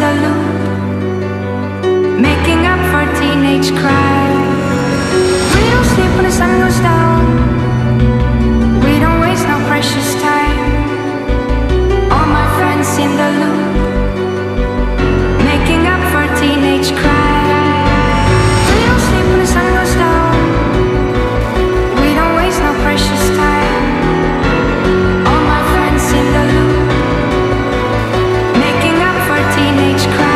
the loop, making up for teenage crime. We don't sleep when the sun goes down. We don't waste no precious time. All my friends in the loop, making up for teenage crime. We don't sleep when the sun goes down. We don't waste no precious time. All my friends in the loop, making up for teenage crime.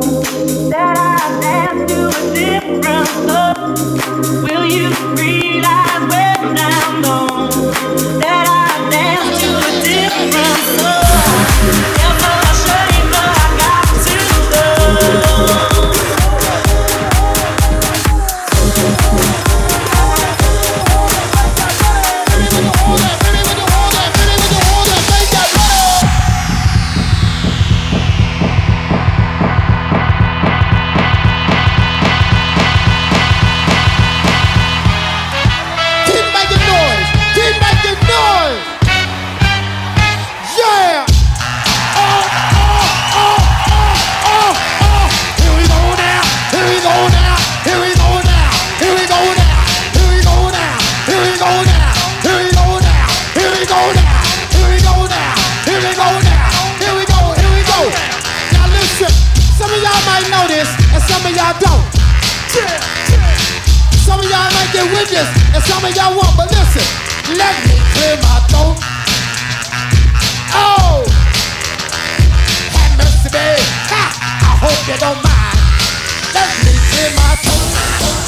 that I dance to a different song? Will you realize when I'm gone that I dance to a different song? Never ashamed, but I got to love. Some of y'all might get with this, and some of y'all won't, but listen, let me clear my throat. Oh, have mercy, babe. Ha, I hope you don't mind. Let me clear my throat.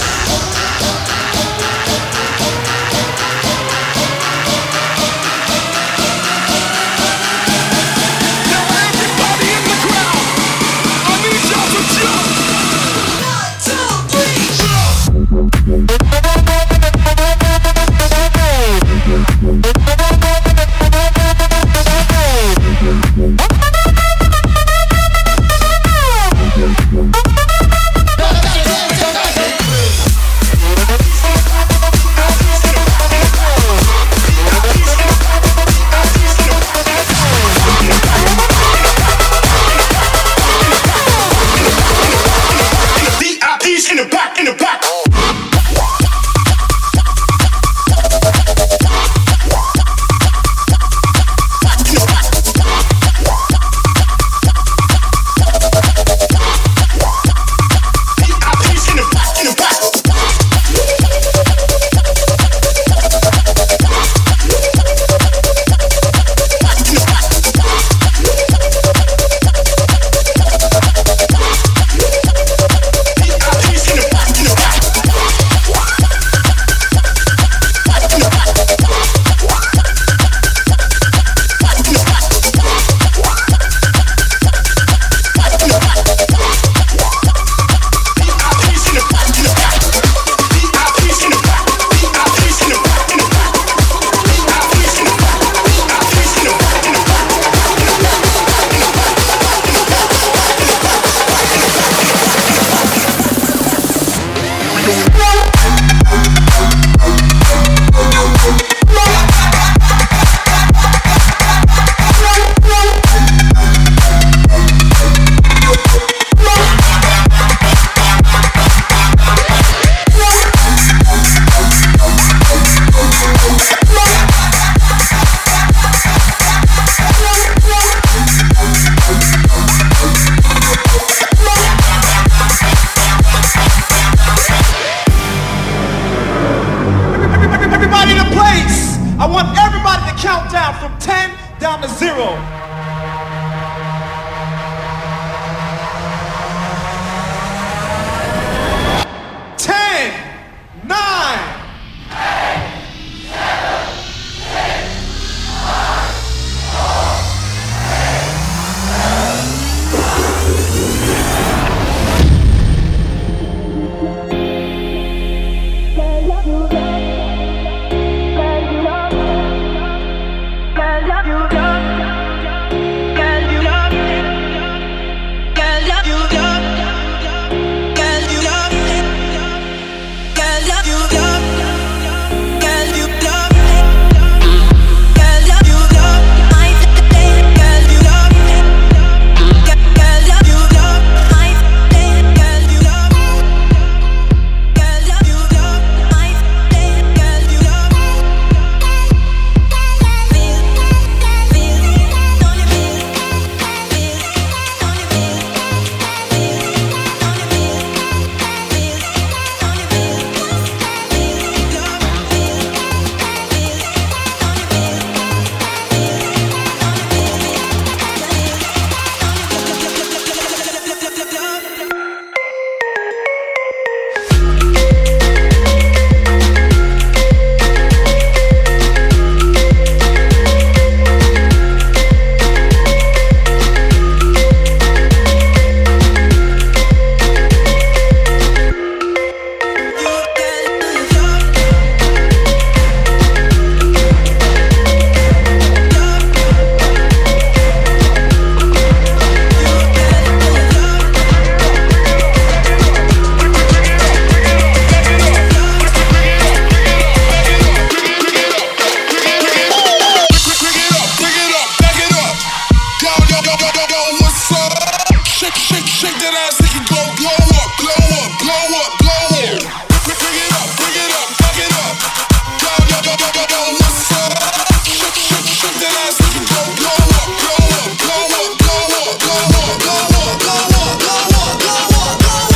Shake that ass, make it go blow up, blow up, blow up, blow up. Bring it up, back it up. Yo, what's up? Shake that ass, make it go blow up, blow up, blow up, blow up, blow up, blow up, blow up, blow up, blow up,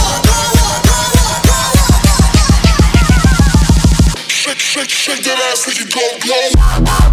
blow up. Shake that ass, make it go blow up.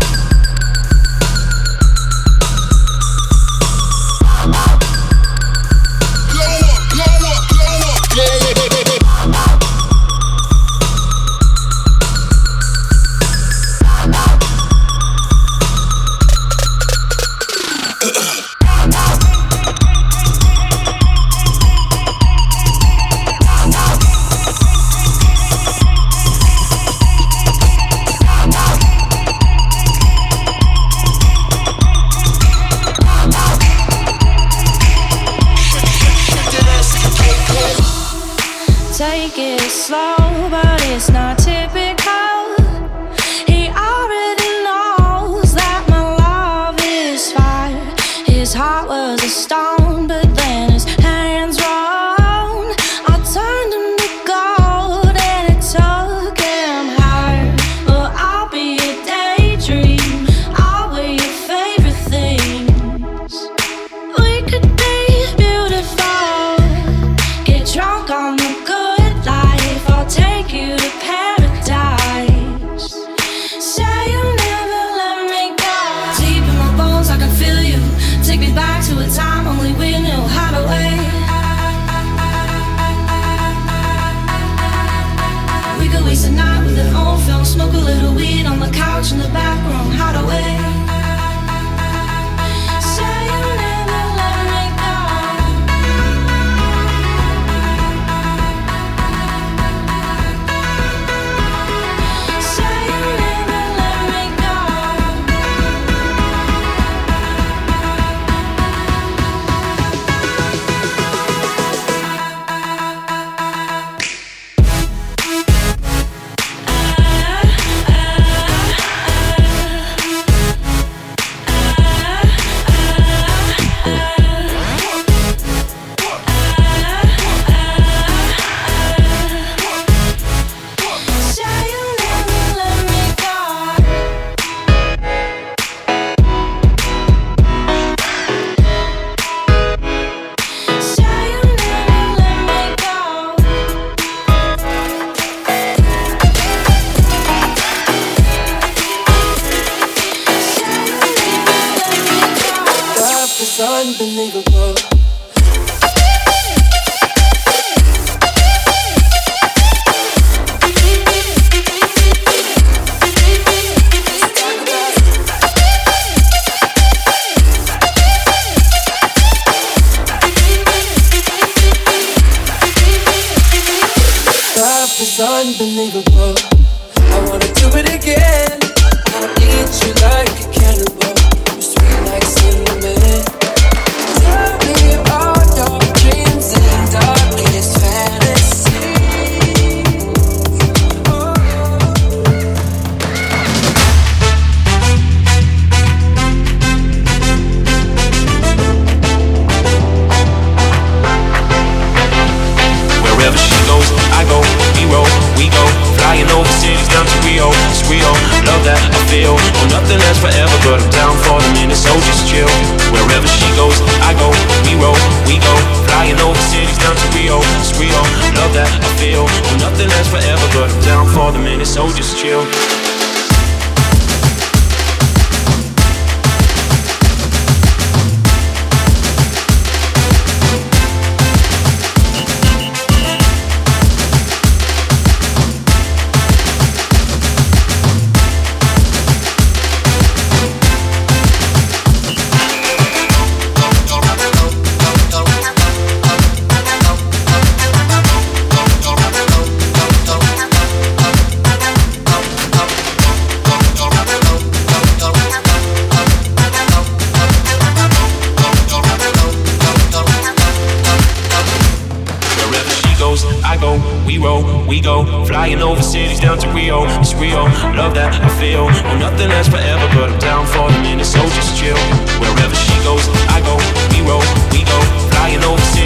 Take it slow, but it's not typical. He already knows that my love is fire. His heart was a stone, but then his hands rolled. I turned him to gold and it took him higher. Well, I'll be a daydream, I'll wear your favorite things. We could be beautiful, get drunk on the good life. I'll take you to paradise. Say you'll never let me go. Deep in my bones I can feel you. Take me back to a time only we knew how to wait. We could waste a night with an old film, smoke a little weed on the couch in the back room, how to wait. Say you'll never let me go. Say you'll never let me go. Say you'll never let me go. Say you'll never let me go. Love is unbelievable. Love is unbelievable. I wanna do it again. I need you like a cannibal. You're sweet like cinnamon. Tell me all your dreams and darkest fantasies. Oh. Wherever she goes, I go, we go, flying over cities down to Rio, it's Rio, love that I feel, oh nothing lasts forever, but I'm down for the minute, so just chill. Wherever she goes, I go, we go, flying over cities down to Rio, it's Rio, love that I feel, oh nothing lasts forever, but I'm down for the minute, so just chill. We go, flying over cities down to Rio, it's Rio, love that I feel, oh nothing lasts forever, but I'm down for the minute, so just chill. Wherever she goes, I go, we go, flying over cities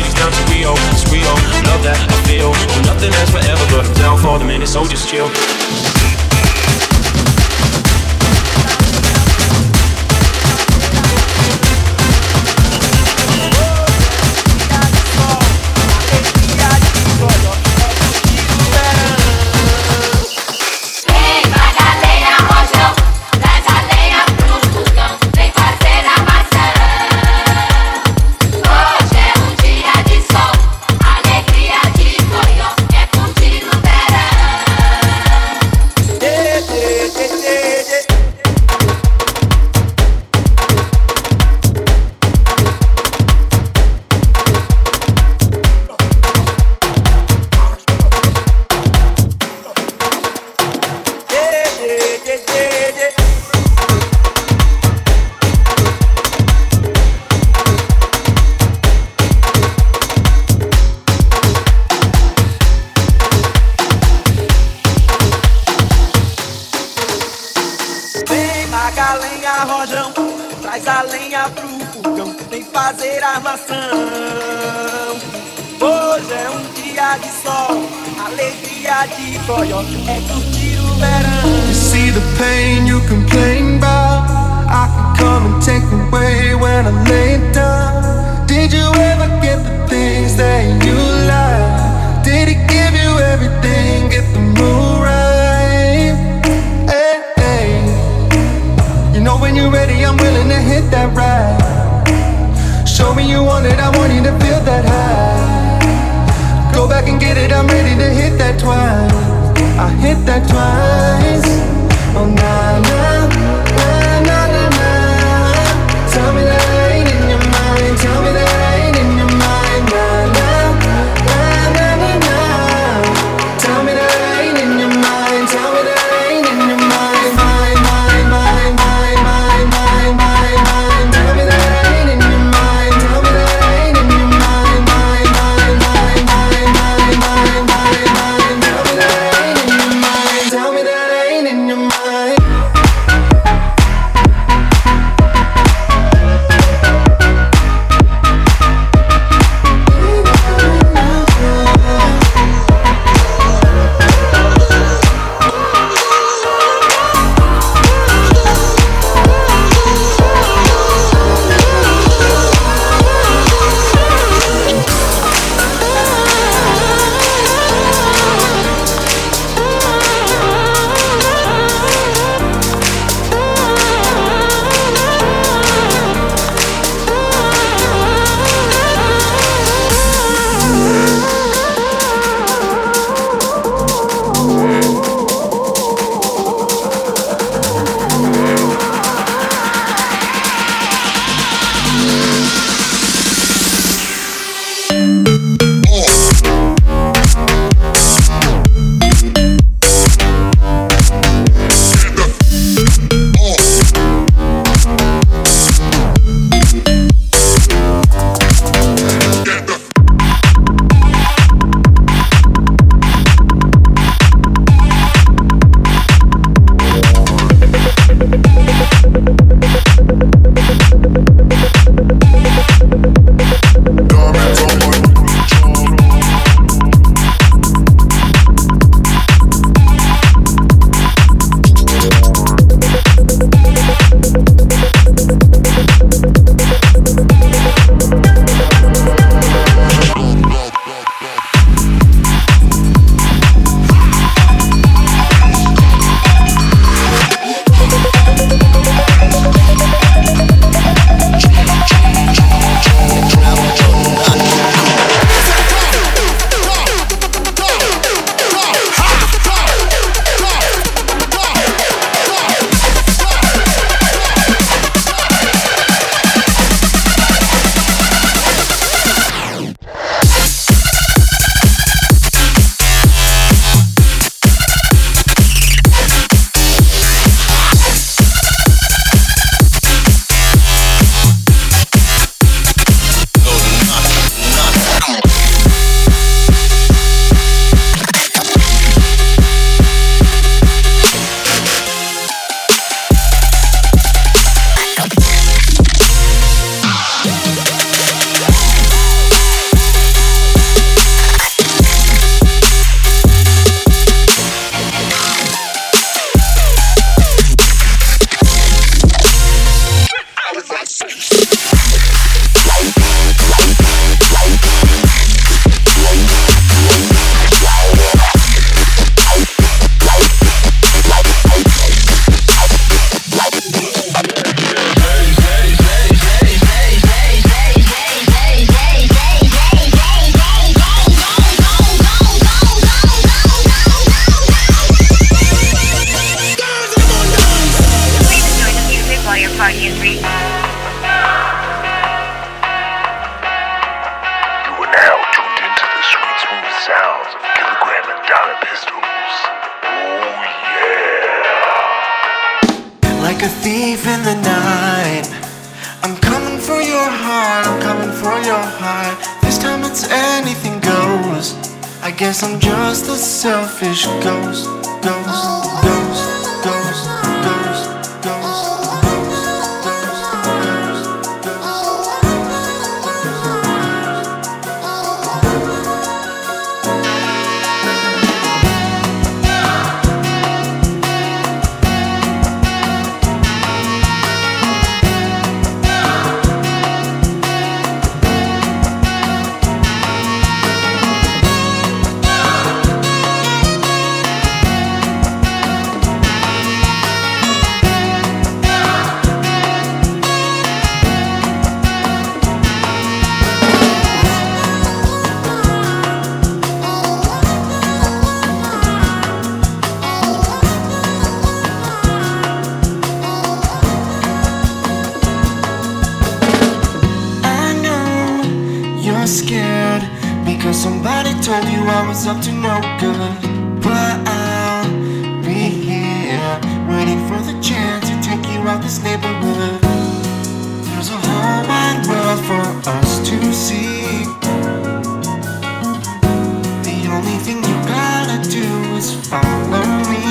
dia de sol, alegria de boió, é curtir o verão. You see the pain you complain about, I can come and take away when I lay down. Did you ever get the things that you like? Did he give you everything? Get the mood right. Hey, hey. You know when you're ready, I'm willing to hit that ride. Show me you want it, I want you to feel that high. Go back and get it, I'm ready to hit that twice. I hit that twice. Oh, nah, nah, nah, nah, nah, nah. Tell me that I ain't in your mind. Tell me that I ain't in your mind. Nah, nah, nah, nah, nah, nah. Tell me that I ain't in your mind. Tell me that I ain't in your mind. Mind, mind, mind, mind, mind, mind, mind, mind. Tell me that I ain't in your mind. Tell me that I ain't in your mind. Mind, mind, mind, mind, mind, mind, mind, mind. Tell me that I ain't in your mind. Tell me that I ain't in your mind. Like a thief in the night, I'm coming for your heart, I'm coming for your heart. This time it's anything goes. I guess I'm just a selfish ghost, ghost, ghost, ghost, ghost, ghost. scared because somebody told you I was up to no good. But I'll be here waiting for the chance to take you out this neighborhood. There's a whole wide world for us to see. The only thing you gotta do is follow me.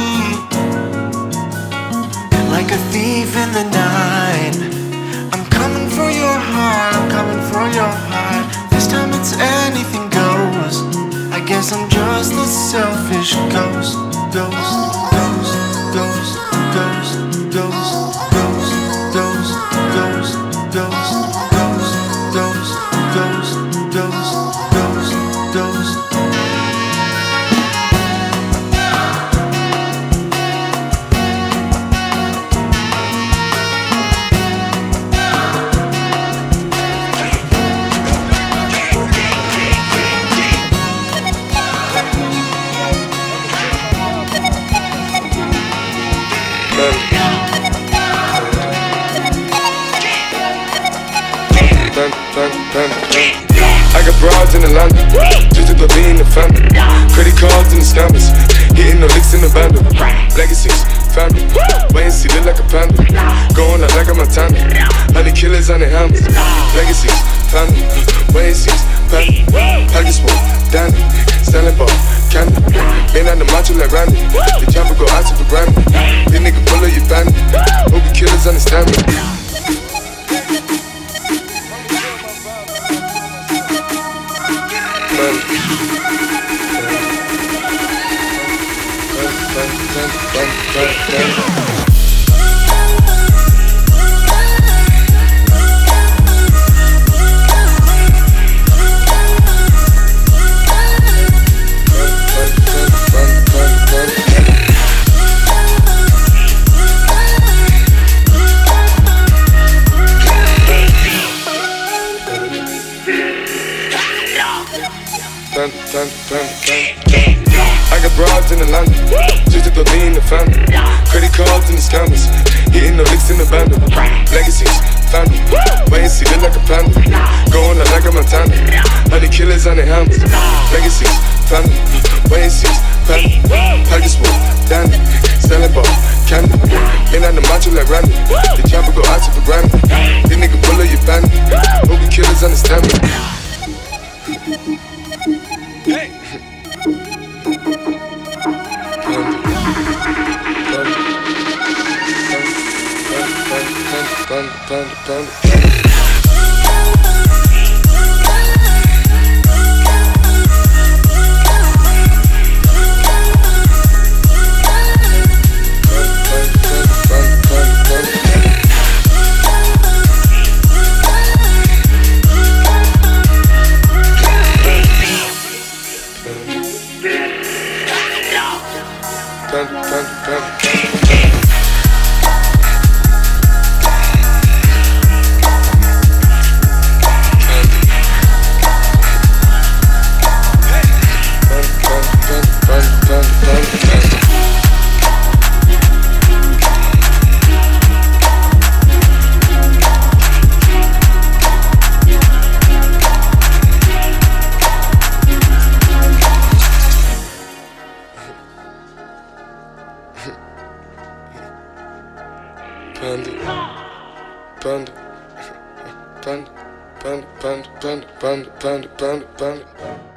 Like a thief in the night, I'm coming for your heart, I'm coming for your heart. This time it's anything goes. I guess I'm just a selfish ghost. Ghost, ghost, ghost, ghost, ghost, ghost, ghost, ghost, ghost, ghost, ghost, ghost, ghost, ghost, ghost. I got broads in Atlanta, just to go be in the family. Credit cards in the scammers, hitting the licks in the bundle. Legacies, family, wait and see, look like a panda. Going out like a Montana, honey killers on the hammers. Legacies, family, wait and see, family. Pocket smoke, Danny, selling ball, candy. Been on the macho like Randy, the chopper go out to the Grammy. This nigga pull up your bandit, hope the killers understand me. I got broads in Atlanta, just to go be in the family. Credit cards in the scammers, hitting the licks in the bundle. Legacies, family, wait and see, look like a panda. Going out like a Montana, honey killers on the hammers. Legacies, family, wait and see, family. Pocket smoke, Danny, selling ball, candy. Been on the macho like Randy, the chopper go out to the Grammy. This nigga pull up your bandit, hope the killers understand me. Hey. Panda.